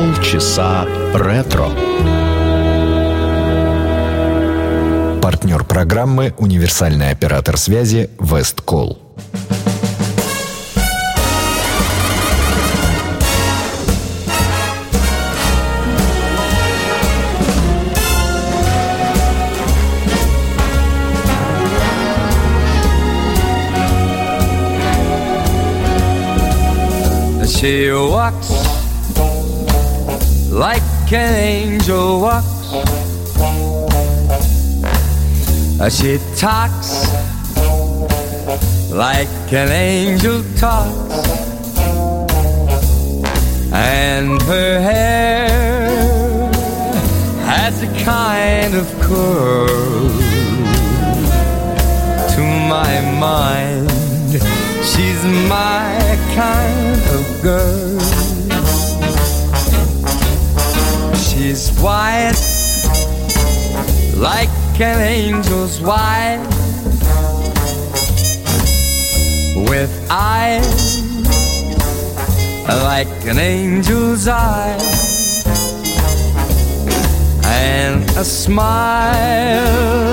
Полчаса ретро. Партнер программы — универсальный оператор связи Весткол. She walks like an angel walks. She talks like an angel talks. And her hair has a kind of curl. To my mind, she's my kind of girl. She's white, like an angel's white, with eyes like an angel's eyes, and a smile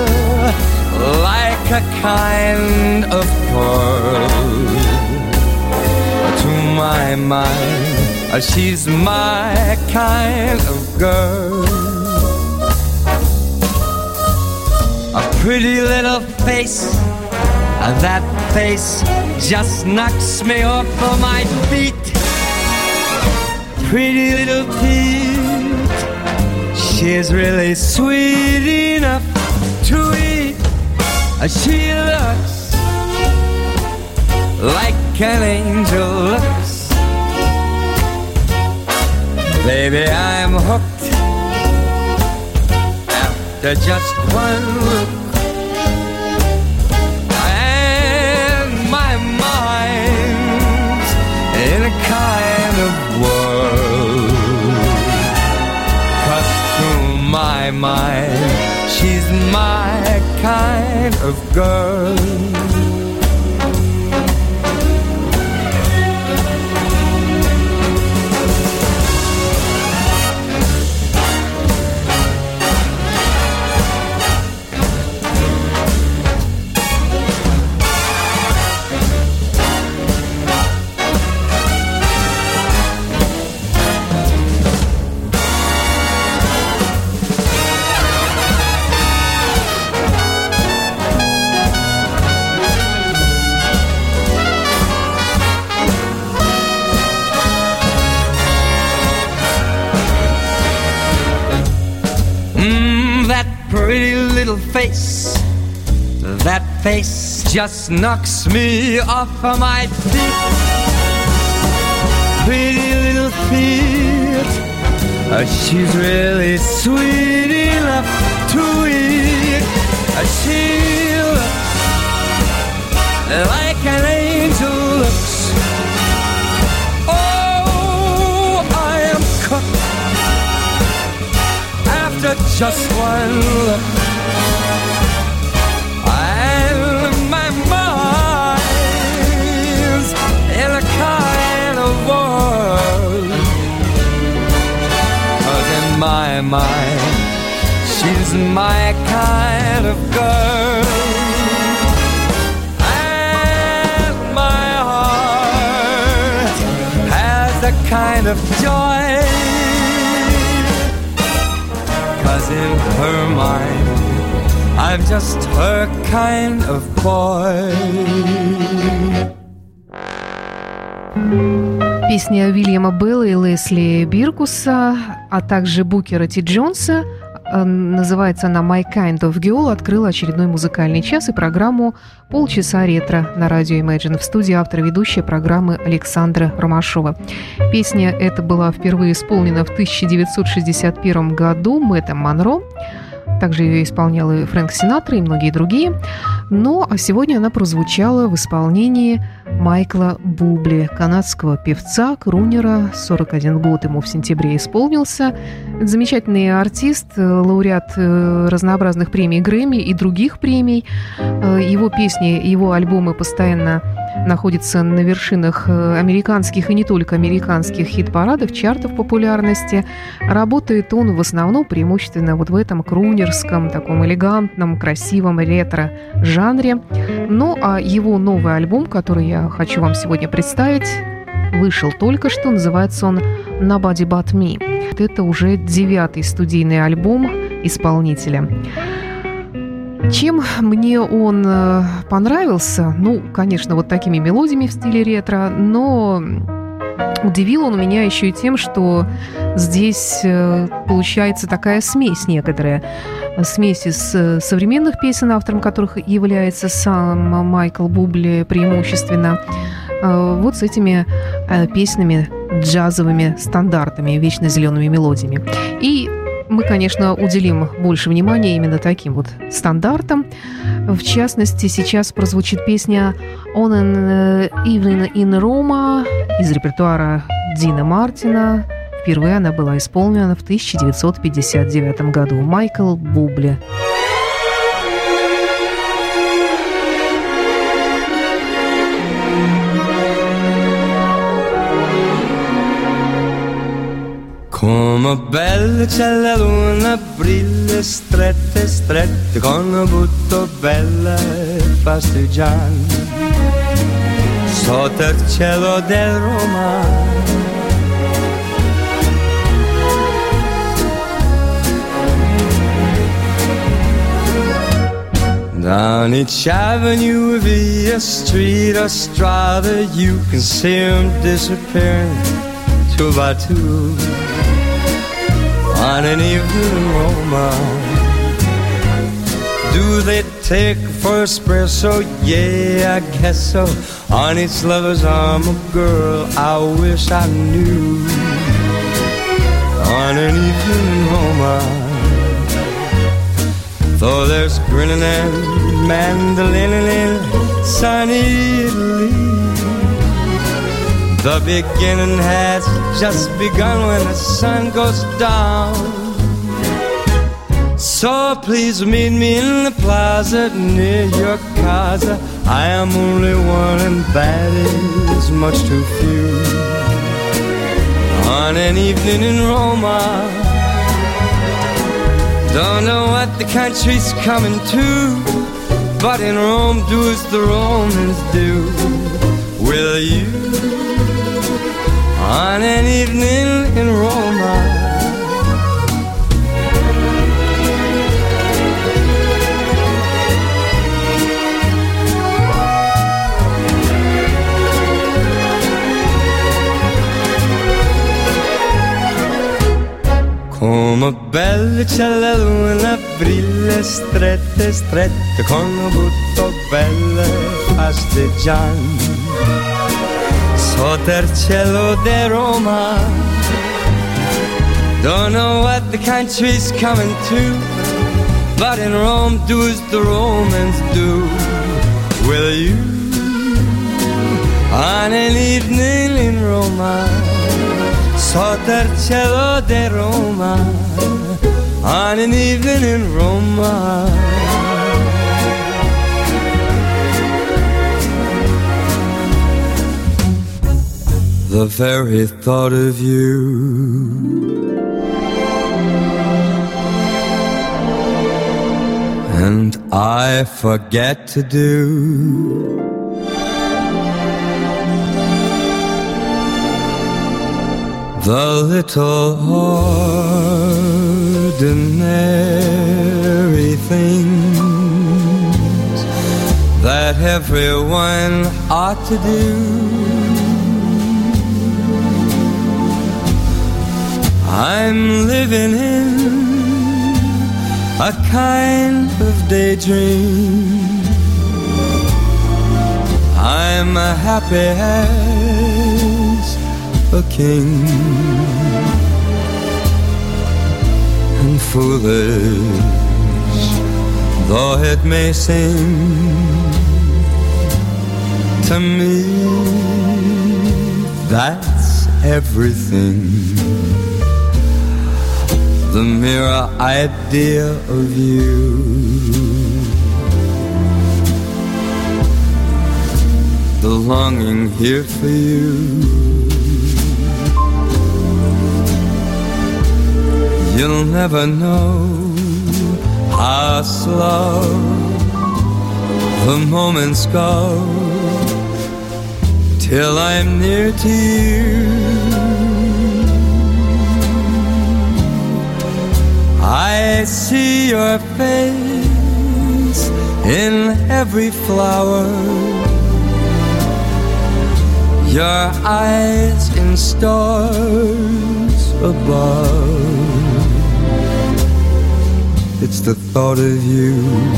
like a kind of pearl. To my mind, she's my kind of girl. A pretty little face, that face just knocks me off of my feet. Pretty little feet, she's really sweet enough to eat. She looks like an angel looks. Baby, I'm hooked after just one look. And my mind's in a kind of whirl. 'Cause to my mind, she's my kind of girl. Pretty little face, that face just knocks me off of my feet. Pretty little feet, she's really sweet enough to eat. She looks like an angel looks. Oh, I am cooked after just one look. And my mind's in a kind of world. 'Cause in my mind, she's my kind of girl. And my heart has a kind of joy. 'Cause in her mind, I'm just her kind of boy. Песня Уильяма Белла и Лесли Биркуса, а также Букера Ти Джонса, называется она «My Kind of Girl», открыла очередной музыкальный час и программу «Полчаса ретро» на радио Imagine. В студии автор и ведущая программы Александра Ромашова. Песня эта была впервые исполнена в 1961 году Мэттом Монро. Также ее исполнял и Фрэнк Синатра, и многие другие. Но сегодня она прозвучала в исполнении Майкла Бубли, канадского певца, крунера. 41 год ему в сентябре исполнился. Замечательный артист, лауреат разнообразных премий Грэмми и других премий. Его песни, его альбомы постоянно находится на вершинах американских и не только американских хит-парадов, чартов популярности. Работает он в основном преимущественно вот в этом крунерском, таком элегантном, красивом ретро-жанре. Ну, а его новый альбом, который я хочу вам сегодня представить, вышел только что, называется он «Nobody But Me». Это уже 9-й студийный альбом исполнителя. Чем мне он понравился? Ну, конечно, вот такими мелодиями в стиле ретро, но удивил он меня еще и тем, что здесь получается такая смесь некоторая. Смесь из современных песен, автором которых является сам Майкл Бубле преимущественно, вот с этими песнями, джазовыми стандартами, вечно зелеными мелодиями. И мы, конечно, уделим больше внимания именно таким вот стандартам. В частности, сейчас прозвучит песня «On an Evening in Roma» из репертуара Дина Мартина. Впервые она была исполнена в 1959 году. Майкл Бубле. Come belle c'è la luna, brille strette, strette, con un butto bella e fasteggiante, sotto il cielo del Roma. Down each avenue, via street or strada, you can see them disappearing two by two. On an evening in Roma, do they take for espresso? Yeah, I guess so. On each lover's arm, a girl I wish I knew. On an evening in Roma, though there's grinning and mandolining in sunny Italy, the beginning has just begun when the sun goes down. So please meet me in the plaza near your casa. I am only one and that is much too few. On an evening in Roma, don't know what the country's coming to, but in Rome do as the Romans do. Will you? On an evening in Roma, come belle c'è la luna, brille strette, strette, con un butto belle fasteggiante, sotto il cielo di Roma. Don't know what the country's coming to, but in Rome do as the Romans do. Will you? On an evening in Roma, sotto il cielo di Roma, on an evening in Roma. The very thought of you and I forget to do the little ordinary things that everyone ought to do. I'm living in a kind of daydream. I'm happy as a king and foolish though it may seem to me. That's everything. The mere idea of you, the the longing here for you. You'll never know how slow the moments go till I'm near to you. I see your face in every flower, your eyes in stars above. It's the thought of you,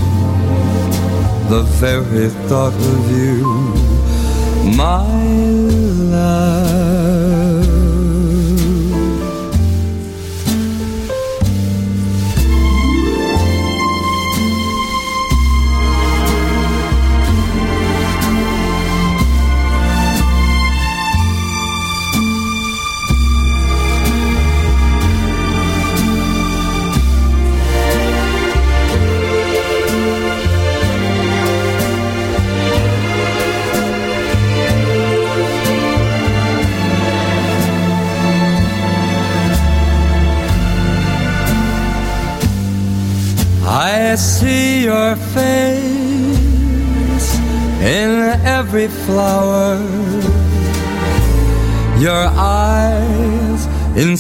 the very thought of you, my love. I see your face in every flower, your eyes in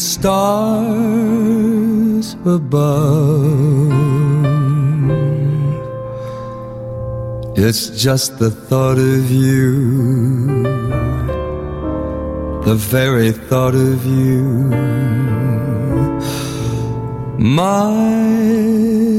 stars above. It's just the thought of you, the very thought of you, my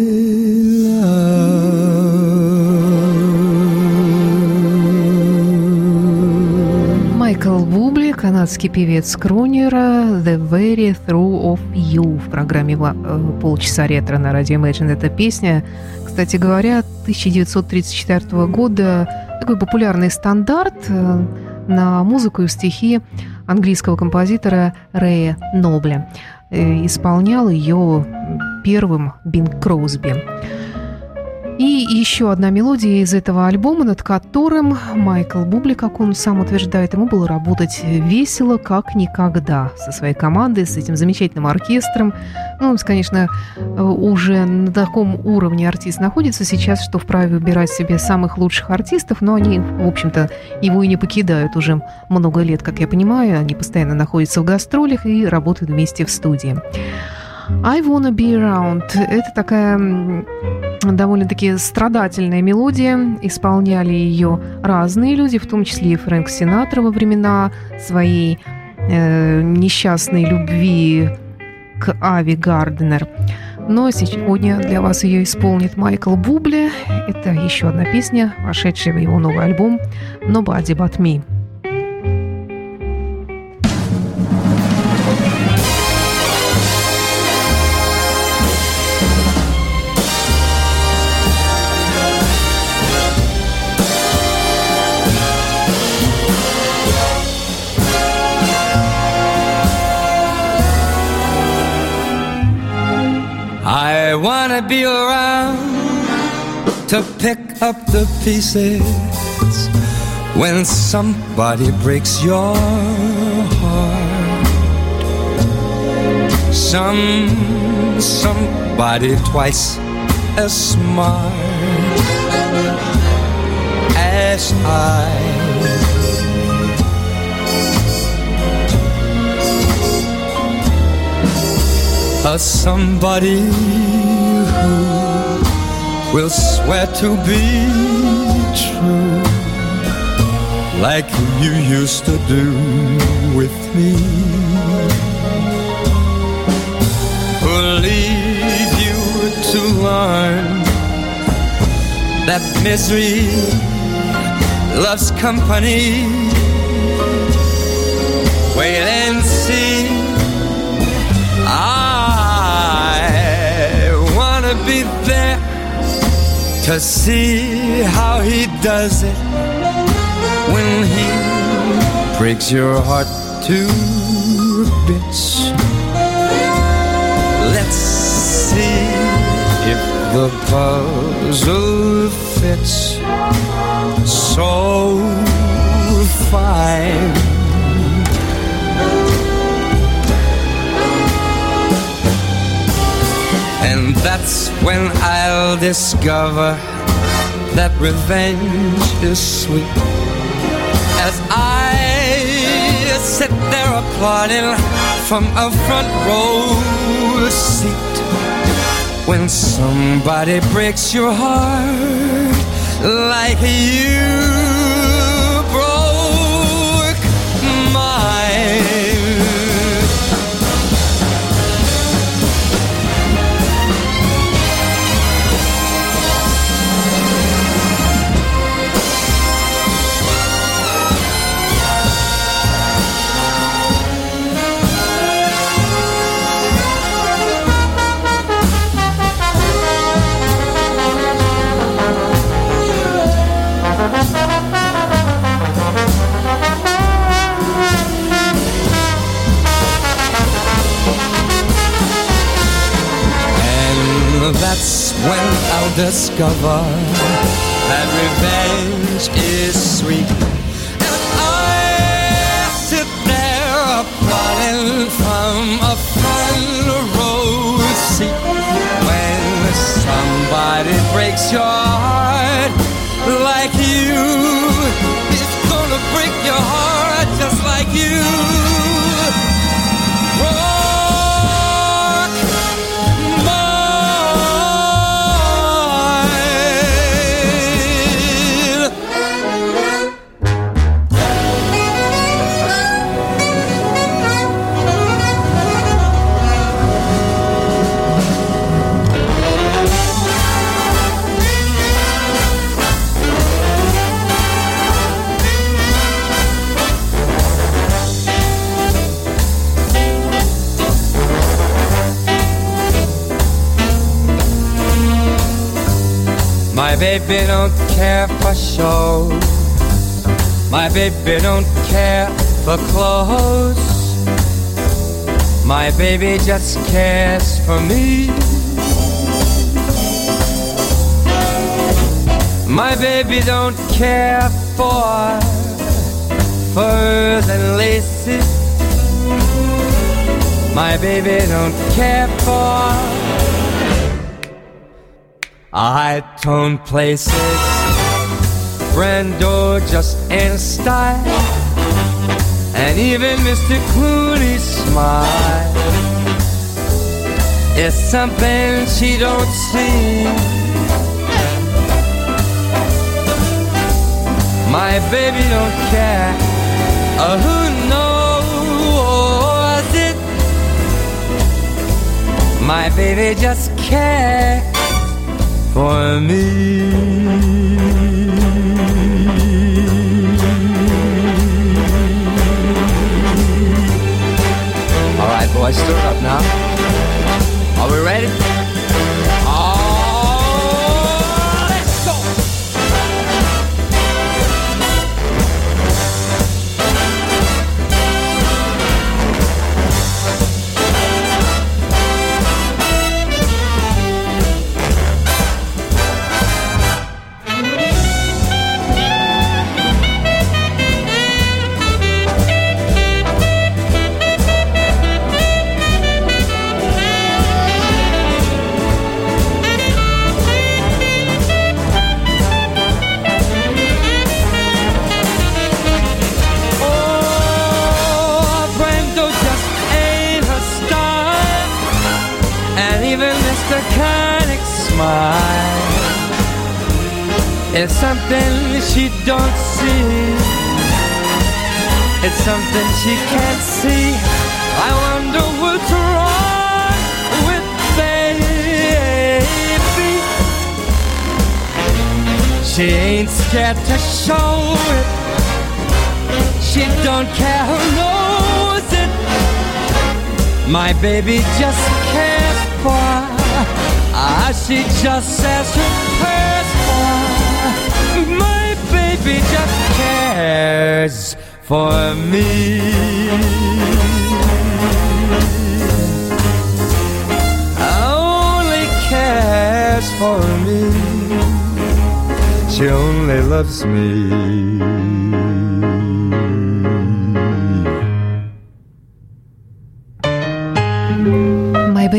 Майкл Бубли, канадский певец-кронер, «The Very Through of You» в программе «Полчаса ретро» на радио Imagine. Эта песня, кстати говоря, 1934 года, такой популярный стандарт на музыку и стихи английского композитора Рэя Нобля. Исполнял ее первым Бинг Кросби. И еще одна мелодия из этого альбома, над которым Майкл Бубли, как он сам утверждает, ему было работать весело, как никогда, со своей командой, с этим замечательным оркестром. Ну, он, конечно, уже на таком уровне артист находится сейчас, что вправе выбирать себе самых лучших артистов, но они, в общем-то, его и не покидают уже много лет, как я понимаю. Они постоянно находятся в гастролях и работают вместе в студии. I Wanna Be Around – это такая довольно-таки страдательная мелодия. Исполняли ее разные люди, в том числе и Фрэнк Синатра во времена своей несчастной любви к Ави Гарднер. Но сегодня для вас ее исполнит Майкл Бубли. Это еще одна песня, вошедшая в его новый альбом «Nobody But Me». I wanna be around to pick up the pieces when somebody breaks your heart. Somebody twice as smart as I. Somebody who will swear to be true like you used to do with me, who'll leave you to learn that misery loves company. Wait and see. Be there to see how he does it when he breaks your heart to bits. Let's see if the puzzle fits. So find. And that's when I'll discover that revenge is sweet. As I sit there applauding from a front row seat, when somebody breaks your heart like you broke mine. That's when I'll discover that revenge is sweet. And I sit there applauding from a front row seat. When somebody breaks your heart like you, it's gonna break your heart just like you. My baby don't care for shows. My baby don't care for clothes. My baby just cares for me. My baby don't care for furs and laces. My baby don't care for high-tone places. Brando just ain't a style. And even Mr. Clooney's smile is something she don't see. My baby don't care who knows it. My baby just cares for me. All right, boys, stir it up now. Are we ready? Oh, let's go! It's something she don't see. It's something she can't see. I wonder what's wrong with baby. She ain't scared to show it. She don't care who knows it. My baby just cares for she just says her prayers for. My baby just cares for me. Only cares for me. She only loves me.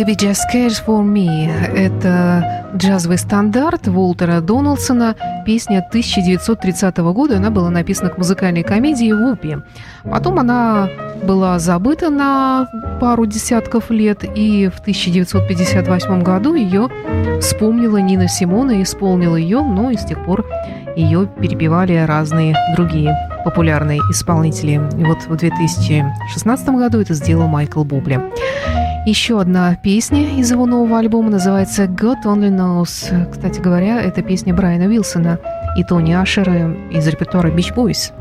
Baby Just Cares for Me. Это джазовый стандарт Уолтера Дональдсона, песня 1930 года. Она была написана к музыкальной комедии «Вупи». Потом она была забыта на пару десятков лет, и в 1958 году ее вспомнила Нина Симон и исполнила ее, но и с тех пор ее перепевали разные другие популярные исполнители. И вот в 2016 году это сделал Майкл Бубле. Еще одна песня из его нового альбома называется «God Only Knows». Кстати говоря, это песня Брайана Уилсона и Тони Ашера из репертуара Beach Boys.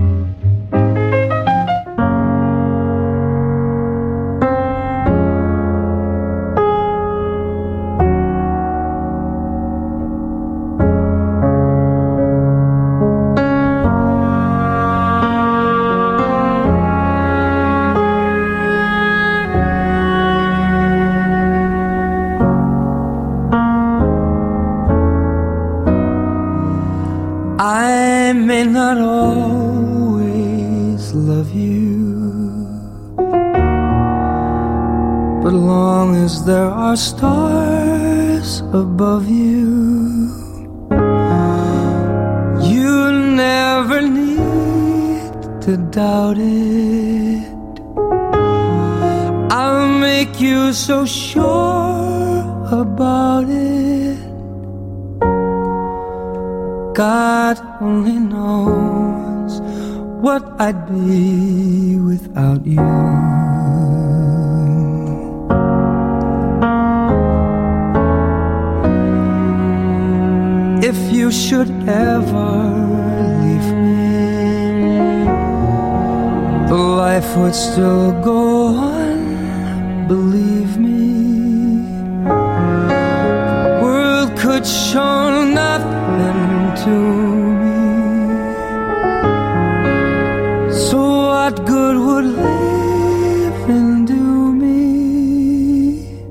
I may not always love you, but long as there are stars above you, you never need to doubt it. I'll make you so sure about it. God only knows what I'd be without you. If you should ever leave me, the life would still go on, believe me. The world could show nothing to me, so what good would living do me?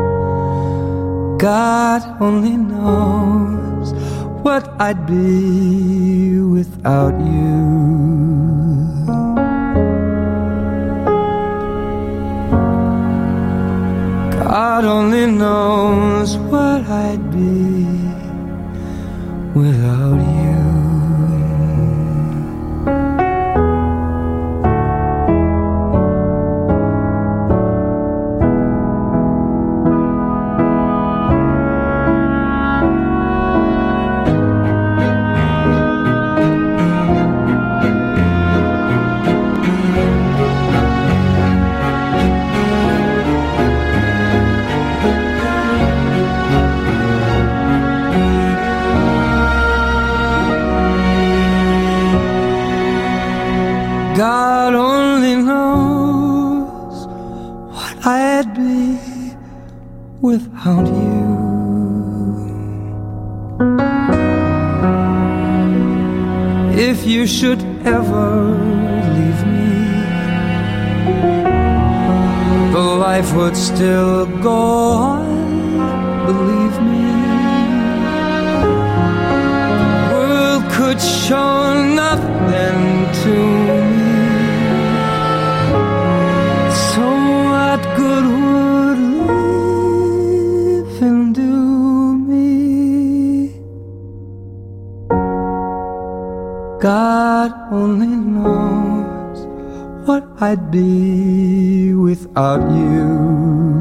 God only knows what I'd be without you. God only knows what I'd be without you. God only knows what I'd be without you. If you should ever leave me, the life would still go on, believe me. The world could show nothing to me. What good would living do me? God only knows what I'd be without you.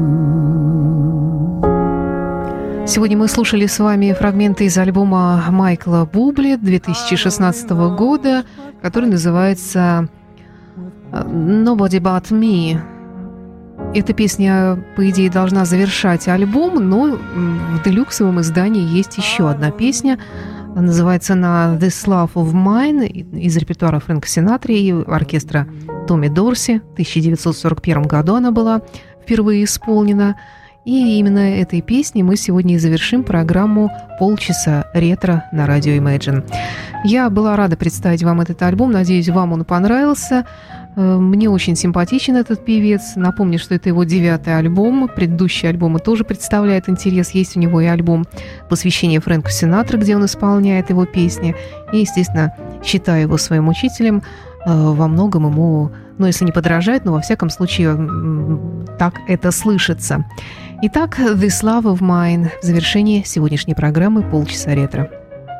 Сегодня мы слушали с вами фрагменты из альбома Майкла Бубле 2016 года, который называется «Nobody But Me». Эта песня, по идее, должна завершать альбом, но в делюксовом издании есть еще одна песня. Называется она «This Love of Mine» из репертуара Фрэнка Синатри и оркестра Томми Дорси. В 1941 году она была впервые исполнена. И именно этой песней мы сегодня и завершим программу «Полчаса ретро» на радио Imagine. Я была рада представить вам этот альбом. Надеюсь, вам он понравился. Мне очень симпатичен этот певец. Напомню, что это его 9-й альбом. Предыдущие альбомы тоже представляют интерес. Есть у него и альбом «Посвящение Фрэнку Синатре», где он исполняет его песни. И, естественно, считаю его своим учителем. Во многом ему, если не подражает, но во всяком случае так это слышится. Итак, «This Love of Mine» в завершении сегодняшней программы «Полчаса ретро».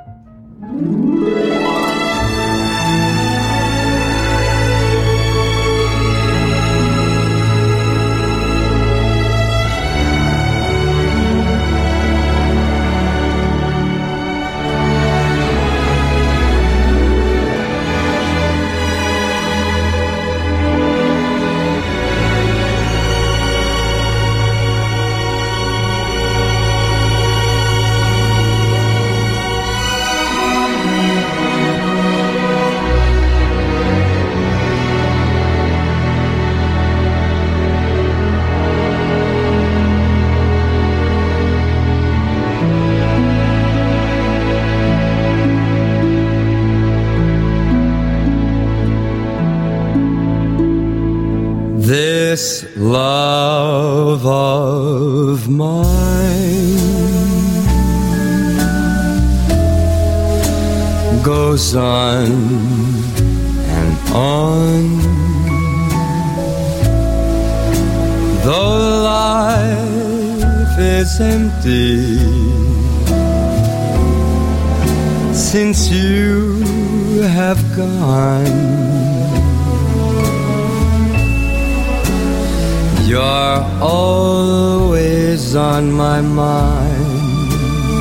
This love of mine goes on and on, though life is empty since you have gone. You're always on my mind,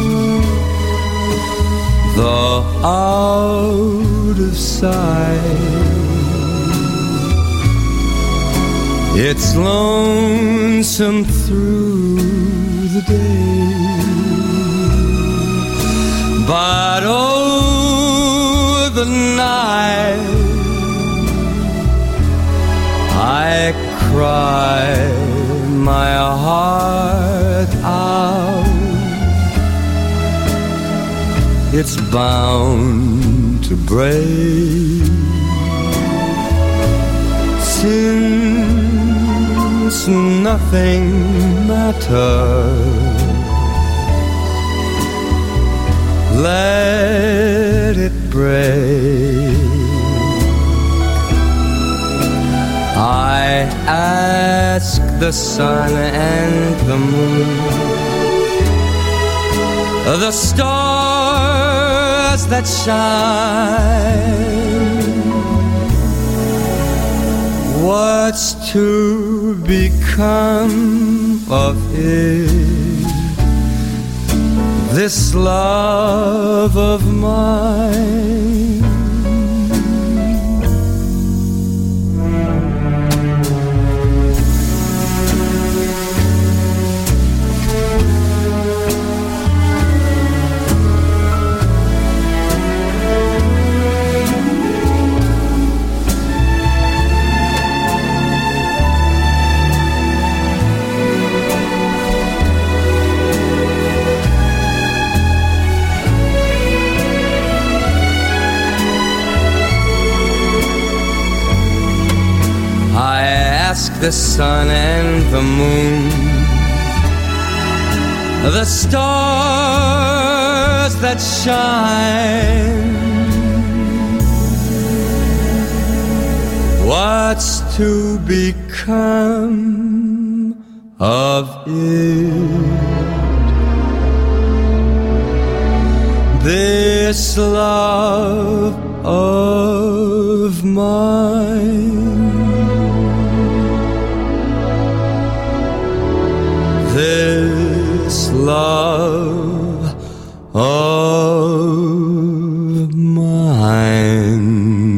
though out of sight. It's lonesome through the day, but oh, the night I cry my heart out. It's bound to break, since nothing matters. Let it break. I ask the sun and the moon, the stars that shine, what's to become of it, this love of mine? The sun and the moon, the stars that shine, what's to become of it, this love of mine? This love of mine.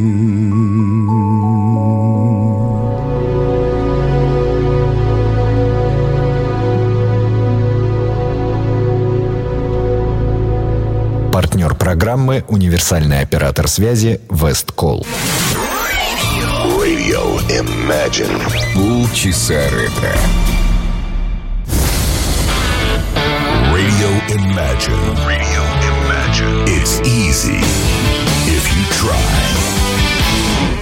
Партнер программы «Универсальный оператор связи» Весткол. Radio Imagine. Полчаса ретро. Radio Imagine. Radio Imagine. It's easy if you try.